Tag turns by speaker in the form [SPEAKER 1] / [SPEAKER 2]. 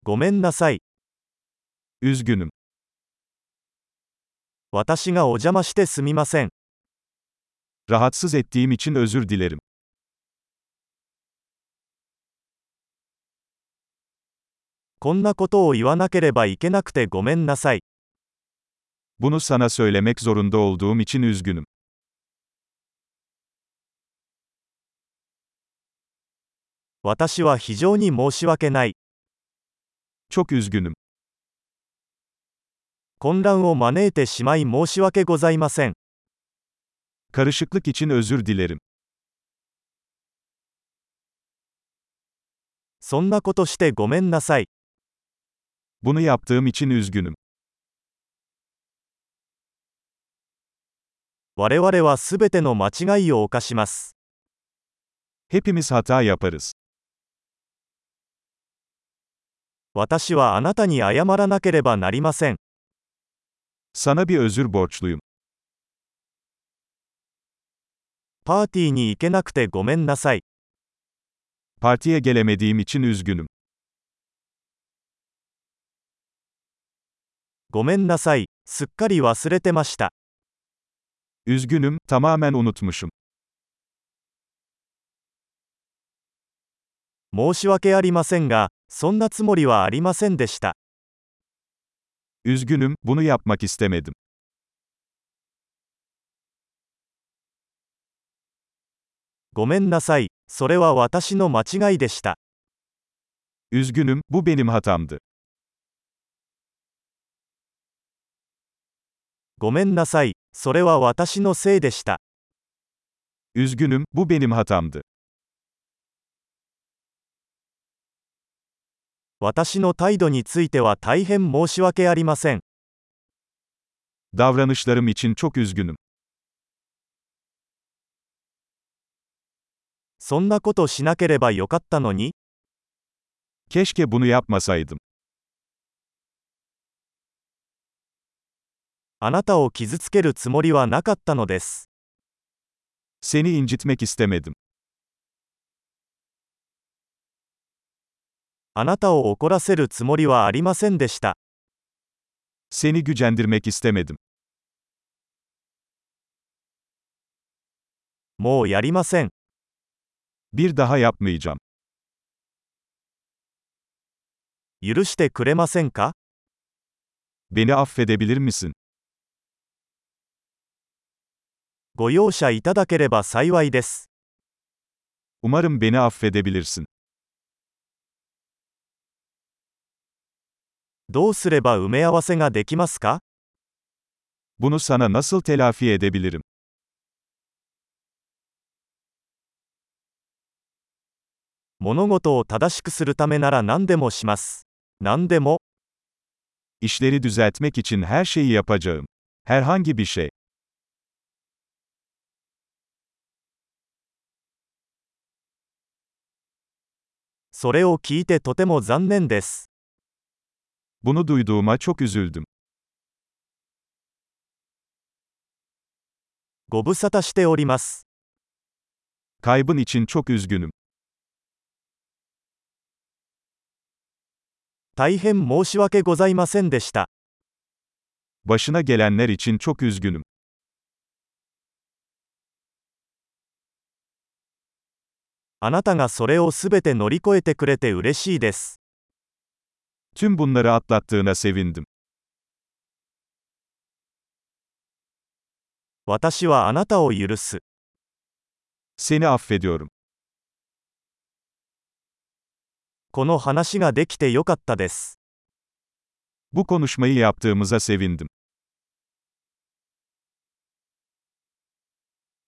[SPEAKER 1] ごめんなさい。
[SPEAKER 2] Üzgünüm.
[SPEAKER 1] 私がお邪魔してすみません。
[SPEAKER 2] Rahatsız ettiğim için özür dilerim.
[SPEAKER 1] こんなことを言わなければいけなくてごめんなさい。
[SPEAKER 2] Bunu sana söylemek zorunda olduğum için üzgünüm.
[SPEAKER 1] 私は非常に申し訳ない。
[SPEAKER 2] Çok üzgünüm.
[SPEAKER 1] 混乱を招いてしまい申し訳ございません。
[SPEAKER 2] Karışıklık için özür dilerim.
[SPEAKER 1] そんなことしてごめんなさい。
[SPEAKER 2] Bunu yaptığım için üzgünüm.
[SPEAKER 1] 我々はすべての間違いを犯します。
[SPEAKER 2] Hepimiz hata yaparız.
[SPEAKER 1] 私はあなたに謝らなければなりません。
[SPEAKER 2] Sana bir özür borçluyum.
[SPEAKER 1] パーティーに行けなくてごめんなさい。
[SPEAKER 2] Partiye gelemediğim için üzgünüm.
[SPEAKER 1] ごめんなさい。すっかり忘れてました。
[SPEAKER 2] Üzgünüm, tamamen unutmuşum.
[SPEAKER 1] 申し訳ありませんが、そんなつもりはありませんでした。
[SPEAKER 2] Üzgünüm, bunu yapmak istemedim.
[SPEAKER 1] ごめんなさい。それは私の間違いでした。
[SPEAKER 2] Üzgünüm, bu benim hatamdı.
[SPEAKER 1] ごめんなさい。それは私のせいでした。
[SPEAKER 2] Üzgünüm, bu benim hatamdı.
[SPEAKER 1] 私の態度については大変申し訳ありません。
[SPEAKER 2] Davranışlarım için çok üzgünüm.
[SPEAKER 1] そんなことしなければよかったのに。
[SPEAKER 2] Keşke bunu yapmasaydım.
[SPEAKER 1] あなたを傷つけるつもりはなかったのです。
[SPEAKER 2] Seni incitmek istemedim.
[SPEAKER 1] あなたを怒らせるつもりはありませんでした。
[SPEAKER 2] Seni gücendirmek istemedim.
[SPEAKER 1] もうやりません。
[SPEAKER 2] Bir daha yapmayacağım.
[SPEAKER 1] 許してくれませんか？
[SPEAKER 2] Beni affedebilir misin?
[SPEAKER 1] ご容赦いただければ幸いです。
[SPEAKER 2] Umarım beni affedebilirsin.
[SPEAKER 1] どうすれば埋め合わせができますか？
[SPEAKER 2] Bunu sana nasıl telafi edebilirim?
[SPEAKER 1] 物事を正しくするためなら何でもします。何でも。
[SPEAKER 2] İşleri düzeltmek için her şeyi yapacağım. Herhangi bir şey.
[SPEAKER 1] それを聞いてとても残念です。
[SPEAKER 2] Bunu duyduğuma çok üzüldüm.
[SPEAKER 1] ご無沙汰しております。
[SPEAKER 2] Kaybın için çok üzgünüm.
[SPEAKER 1] 大変申し訳ございませんでした。
[SPEAKER 2] Başına gelenler için çok üzgünüm.
[SPEAKER 1] あなたがそれをすべて乗り越えてくれて嬉しいです。
[SPEAKER 2] Tüm bunları atlattığına sevindim.
[SPEAKER 1] 私はあなたを許す。
[SPEAKER 2] Seni affediyorum.
[SPEAKER 1] この話ができてよかったです。
[SPEAKER 2] Bu konuşmayı yaptığımıza sevindim.